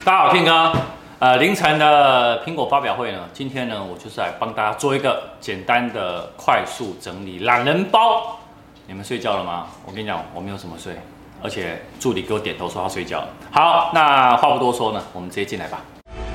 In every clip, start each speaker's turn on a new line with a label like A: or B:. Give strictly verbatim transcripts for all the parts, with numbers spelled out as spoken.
A: 大家好，天哥。呃，凌晨的苹果发表会呢，今天呢，我就是来帮大家做一个简单的快速整理懒人包。你们睡觉了吗？我跟你讲，我没有什么睡，而且助理给我点头说他睡觉了。好，那话不多说呢，我们直接进来吧。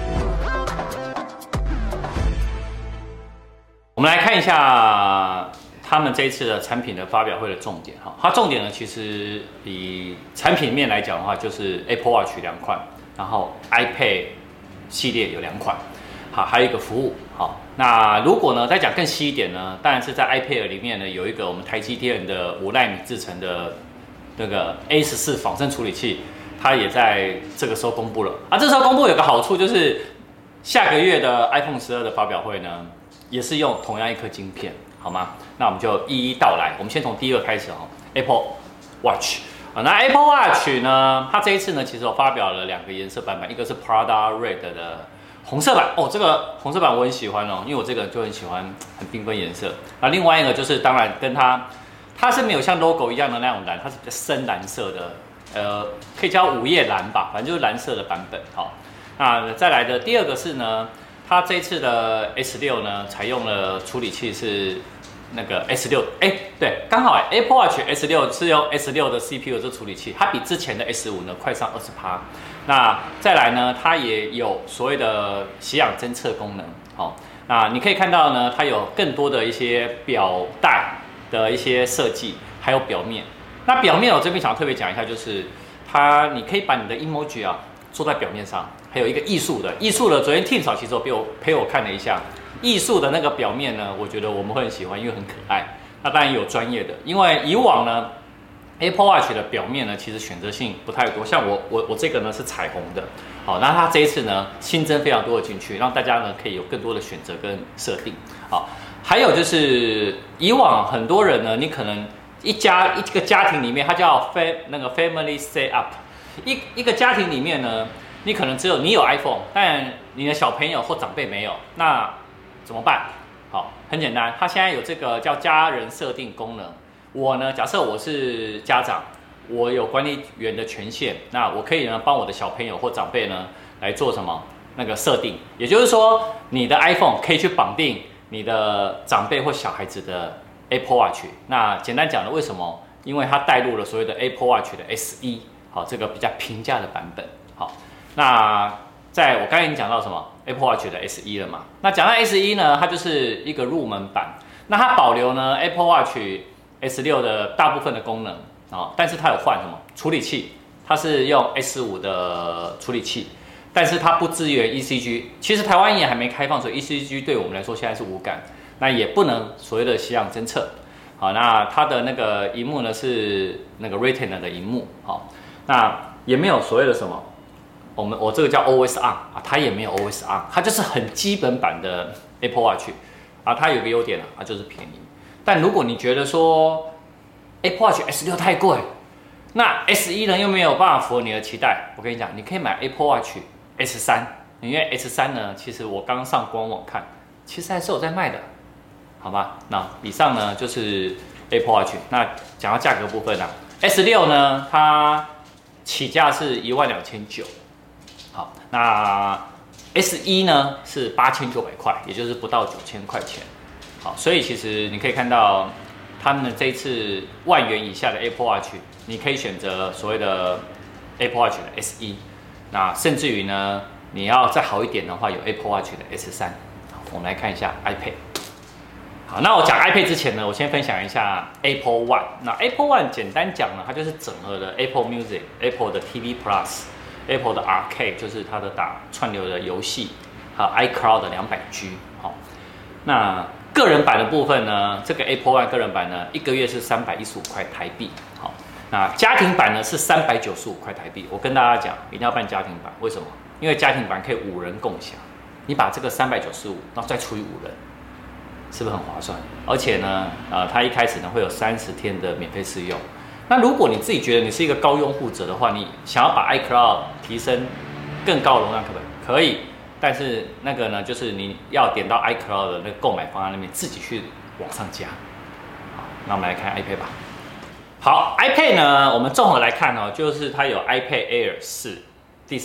A: 我们来看一下他们这一次的产品的发表会的重点哈。它重点呢，其实以产品面来讲的话，就是 Apple Watch 两款，然后 iPad 系列有两款，好，还有一个服务。好，那如果呢再讲更细一点呢，当然是在 iPad 里面呢有一个我们台积电的五奈米制成的那个 A 十四仿生处理器，它也在这个时候公布了啊。这时候公布有个好处就是，下个月的 iPhone 十二的发表会呢，也是用同样一颗晶片，好吗？那我们就一一道来。我们先从第一个开始哦 ，Apple Watch。那 Apple Watch 呢，它这一次呢，其实我发表了两个颜色版本，一个是 Prada Red 的红色版哦，这个红色版我很喜欢哦，因为我这个人就很喜欢很缤纷颜色。那另外一个就是当然跟它，它是没有像 logo 一样的那种蓝，它是比较深蓝色的，呃，可以叫午夜蓝吧，反正就是蓝色的版本。好，那再来的第二个是呢，它这一次的 S 六呢，采用了处理器是那个 S 六，哎，对，刚好哎 ，Apple Watch S 六是用 S 六的 C P U 这处理器，它比之前的 S 五呢快上二十趴。那再来呢，它也有所谓的血氧侦测功能，好、哦，那你可以看到呢，它有更多的一些表带的一些设计，还有表面。那表面我这边想要特别讲一下，就是它你可以把你的 emoji 啊做在表面上，还有一个艺术的，艺术的，昨天 Tim 嫂其实陪我陪我看了一下。艺术的那个表面呢，我觉得我们会很喜欢，因为很可爱。那当然有专业的，因为以往呢 ，Apple Watch 的表面呢，其实选择性不太多。像我我我这个呢是彩虹的，好，那它这一次呢新增非常多的进去，让大家呢可以有更多的选择跟设定。好，还有就是以往很多人呢，你可能一家一个家庭里面，它叫 fam 那个 family set up， 一一个家庭里面呢，你可能只有你有 iPhone， 但你的小朋友或长辈没有，那怎么办？好，很简单，它现在有这个叫家人设定功能。我呢，假设我是家长，我有管理员的权限，那我可以呢帮我的小朋友或长辈呢来做什么那个设定。也就是说，你的 iPhone 可以去绑定你的长辈或小孩子的 Apple Watch。那简单讲呢，为什么？因为它带入了所谓的 Apple Watch 的 S 一，好，这个比较平价的版本。好，那在我刚才已经讲到什么？ Apple Watch 的 S 一 了嘛？那讲到 S 一 呢，它就是一个入门版。那它保留呢 Apple Watch S 六的大部分的功能啊、哦，但是它有换什么处理器？它是用 S 五的处理器，但是它不支援 E C G。其实台湾也还没开放，所以 E C G 对我们来说现在是无感。那也不能所谓的血氧侦测。好，那它的那个荧幕呢是那个 Retina 的荧幕。好，那也没有所谓的什么。我们我这个叫 Always On 啊，它也没有 Always On， 它就是很基本版的 Apple Watch 啊。它有个优点啊，它就是便宜。但如果你觉得说 Apple Watch S 六太贵，那 S 一 呢又没有办法符合你的期待，我跟你讲，你可以买 Apple Watch S 三，因为 S 三呢，其实我刚上官网看，其实还是有在卖的，好吧？那以上呢就是 Apple Watch。那讲到价格部分啊 ，S 六 呢它起价是一万两千九。好，那 S 一 呢是八千九百块，也就是不到九千块钱。好，所以其实你可以看到，他们这一次万元以下的 Apple Watch， 你可以选择所谓的 Apple Watch 的 S 一，那甚至于呢，你要再好一点的话，有 Apple Watch 的 S 三。我们来看一下 iPad。好，那我讲 iPad 之前呢，我先分享一下 Apple One。那 Apple One 简单讲呢，它就是整合了 Apple Music、Apple 的 T V Plus。Apple 的 Arcade 就是它的打串流的游戏，还有 iCloud 的两百 G。好，那个人版的部分呢，这个 Apple One 个人版呢，一个月是三百一十五块台币。好，那家庭版呢是三百九十五块台币。我跟大家讲，一定要办家庭版，为什么？因为家庭版可以五人共享，你把这个三百九十五，然后再除以五人，是不是很划算？而且呢，呃，它一开始呢会有三十天的免费试用。那如果你自己觉得你是一个高用户者的话，你想要把 iCloud 提升更高容量，可不可以？可以，但是那个呢，就是你要点到 iCloud 的那个购买方案那边自己去往上加。好，那我们来看 iPad 吧。好 ，iPad 呢，我们综合来看哦，就是它有 iPad Air 四第四代，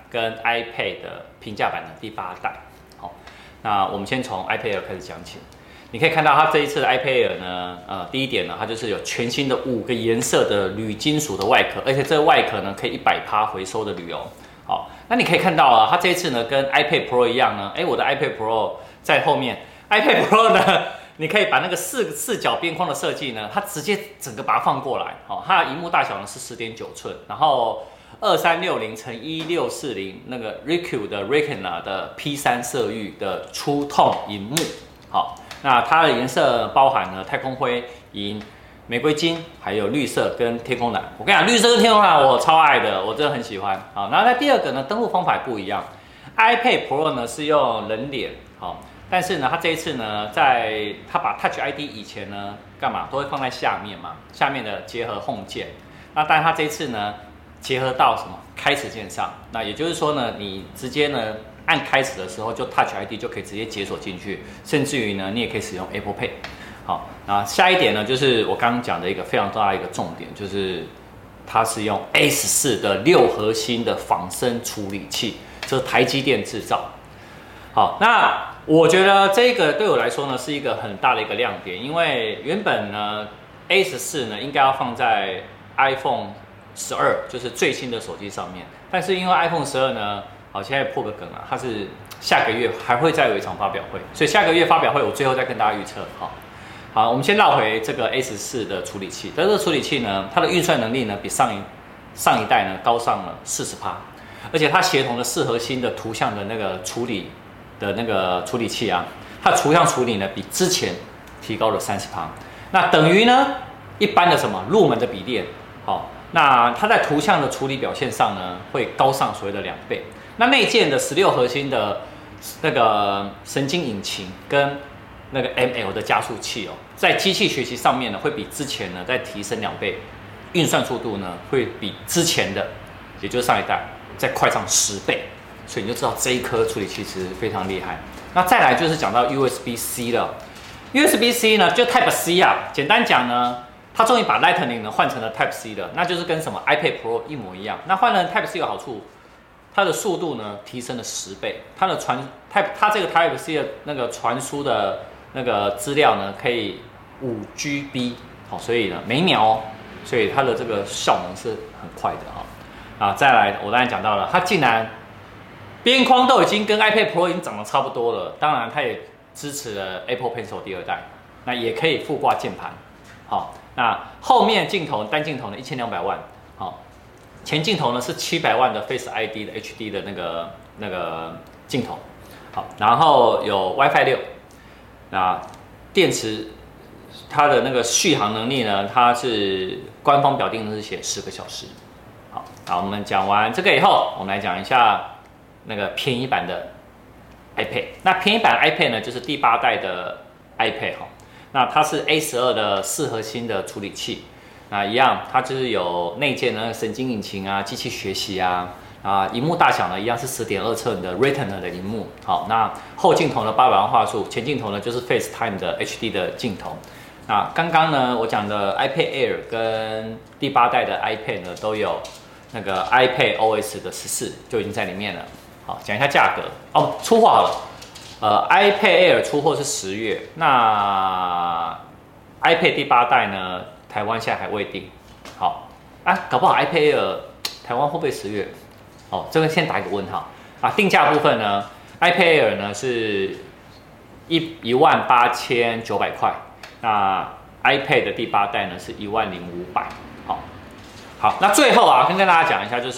A: 跟 iPad 的平价版的第八代。好，那我们先从 iPad Air 开始讲起。你可以看到它这一次的 iPad Air 呢，呃，第一点呢，它就是有全新的五个颜色的铝金属的外壳，而且这个外壳呢可以一百趴回收的铝哦。好，那你可以看到啊，它这一次呢跟 iPad Pro 一样呢，哎，我的 iPad Pro 在后面 ，iPad Pro 呢，你可以把那个四四角边框的设计呢，它直接整个把它放过来，好，它的荧幕大小呢是 十点九寸，然后二三六零乘一六四零那个 Recue 的 Retina 的 P 三 色域的粗痛荧幕，好。那它的颜色包含了太空灰、银、玫瑰金，还有绿色跟天空蓝。我跟你讲，绿色跟天空蓝我超爱的，我真的很喜欢。好，然后那第二个呢，登录方法不一样。iPad Pro 呢是用人脸，好，但是呢，它这一次呢，在它把 Touch I D 以前呢，干嘛都会放在下面嘛，下面的结合 Home 键。那但是它这一次呢，结合到什么开始键上。那也就是说呢，你直接呢。按开始的时候就 Touch I D 就可以直接解锁进去，甚至于呢，你也可以使用 Apple Pay。好，那下一点呢，就是我刚刚讲的一个非常大的一个重点，就是它是用 A 十四 的六核心的仿生处理器，这是台积电制造。好，那我觉得这个对我来说呢是一个很大的一个亮点，因为原本呢 A 十四 呢应该要放在 iPhone 十二，就是最新的手机上面，但是因为 iPhone 十二呢。好，现在破个梗啊，它是下个月还会再有一场发表会，所以下个月发表会我最后再跟大家预测。好，好，我们先绕回这个 A 十四 的处理器，但这个处理器呢，它的运算能力呢比上一上一代呢高上了 百分之四十， 而且它协同的四核心的图像的那个处理的那个处理器啊，它的图像处理呢比之前提高了 百分之三十， 那等于呢一般的什么入门的笔电，好，那它在图像的处理表现上呢会高上所谓的两倍。那内建的十六核心的那个神经引擎跟那个 M L 的加速器哦，在机器学习上面呢，会比之前呢再提升两倍，运算速度呢会比之前的，也就是上一代再快上十倍，所以你就知道这一颗处理器其实非常厉害。那再来就是讲到 U S B C 了 ，U S B C 呢就 Type C 啊，简单讲呢，它终于把 Lightning 呢换成了 Type C 了，那就是跟什么 iPad Pro 一模一样。那换了 Type C 有好处。它的速度呢提升了十倍，它的传 Type 它这个 Type C 的那个传输的那个资料呢可以五 G B， 好，所以呢每秒哦，所以它的这个效能是很快的哈。啊，再来我刚才讲到了，它竟然边框都已经跟 iPad Pro 已经长得差不多了，当然它也支持了 Apple Pencil 第二代，那也可以附挂键盘，好，那后面镜头单镜头呢一千两百万，好。前镜头呢是七百万的 Face I D 的 H D 的那个那个镜头，好，然后有 WiFi 六，那电池它的那个续航能力呢，它是官方表定是写十个小时。好，好，我们讲完这个以后，我们来讲一下那个便宜版的 iPad。那便宜版 iPad 呢，就是第八代的 iPad 哈，那它是 A 十二 的四核心的处理器。那一样，它就是有内建的神经引擎啊、机器学习啊，啊，荧幕大小呢一样是 十点二寸的 Retina 的荧幕。好，那后镜头呢八百万画素，前镜头呢就是 FaceTime 的 H D 的镜头。那刚刚呢我讲的 iPad Air 跟第八代的 iPad 呢都有那个 iPad O S 的十四就已经在里面了。好，讲一下价格哦，出货好了。呃 ，iPad Air 出货是十月，那 iPad 第八代呢？台湾现在还未定，好啊，搞不好 iPad Air 台湾会不会十月？哦，这个先打一个问号啊。定价部分呢 ，iPad Air 呢是一一万八千九百块，那 iPad 的第八代呢是一万零五百。好，好，那最后啊，跟跟大家讲一下，就是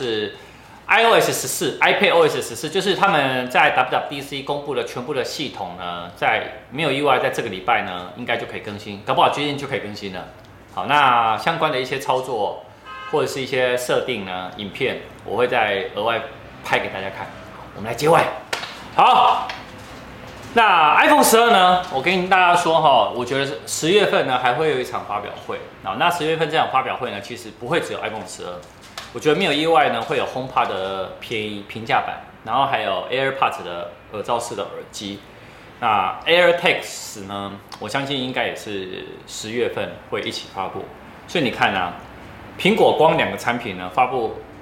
A: iOS 十四、iPad O S 十四，就是他们在 W W D C 公布的全部的系统呢，在没有意外，在这个礼拜呢，应该就可以更新，搞不好最近就可以更新了。好，那相关的一些操作或者是一些设定呢，影片我会再额外拍给大家看。我们来结尾。好，那 iPhone 十二呢，我跟大家说哈，我觉得十月份呢还会有一场发表会。啊，那十月份这场发表会呢，其实不会只有 iPhone 十二，我觉得没有意外呢，会有 HomePod 的便宜平价版，然后还有 AirPods 的耳罩式的耳机。那 AirTags 呢？我相信应该也是十月份会一起发布，所以你看啊，苹果光两个产品呢发布，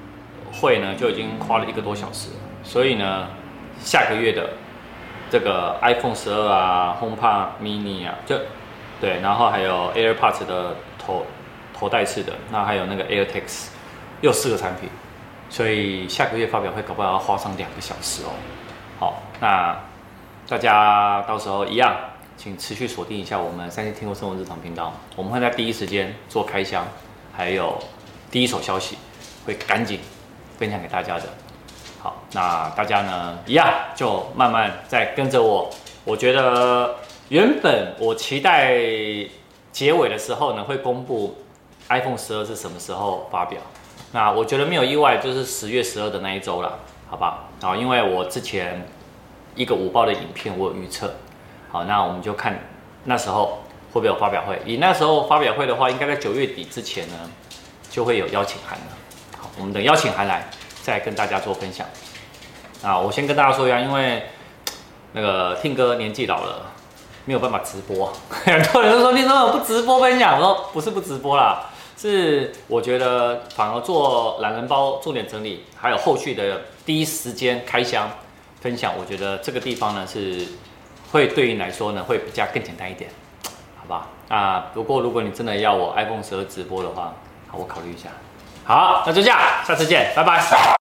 A: 会呢就已经花了一个多小时了，所以呢，下个月的这个 iPhone 十二啊、HomePod Mini 啊，就对，然后还有 AirPods 的头头戴式的，那还有那个 AirTags， 又四个产品，所以下个月发表会搞不好要花上两个小时哦。好，那大家到时候一样，请持续锁定一下我们三星听过生活日常频道，我们会在第一时间做开箱，还有第一手消息会赶紧分享给大家的。好，那大家呢一样就慢慢再跟着我。我觉得原本我期待结尾的时候呢会公布 iPhone 十二是什么时候发表。那我觉得没有意外，就是十月十二的那一周啦，好吧？好，因为我之前一个午报的影片我有预测。好，那我们就看那时候会不会有发表会。以那时候发表会的话，应该在九月底之前呢就会有邀请函了。好，我们等邀请函来。再跟大家做分享啊！我先跟大家说一下，因为那个听哥年纪老了，没有办法直播。很多人都说你怎么不直播分享？我说不是不直播啦，是我觉得反而做懒人包重点整理，还有后续的第一时间开箱分享，我觉得这个地方呢是会对你来说呢会比较更简单一点，好吧？啊，不过如果你真的要我 iPhone 十二直播的话，好，我考虑一下。好，那就这样，下次见，拜拜。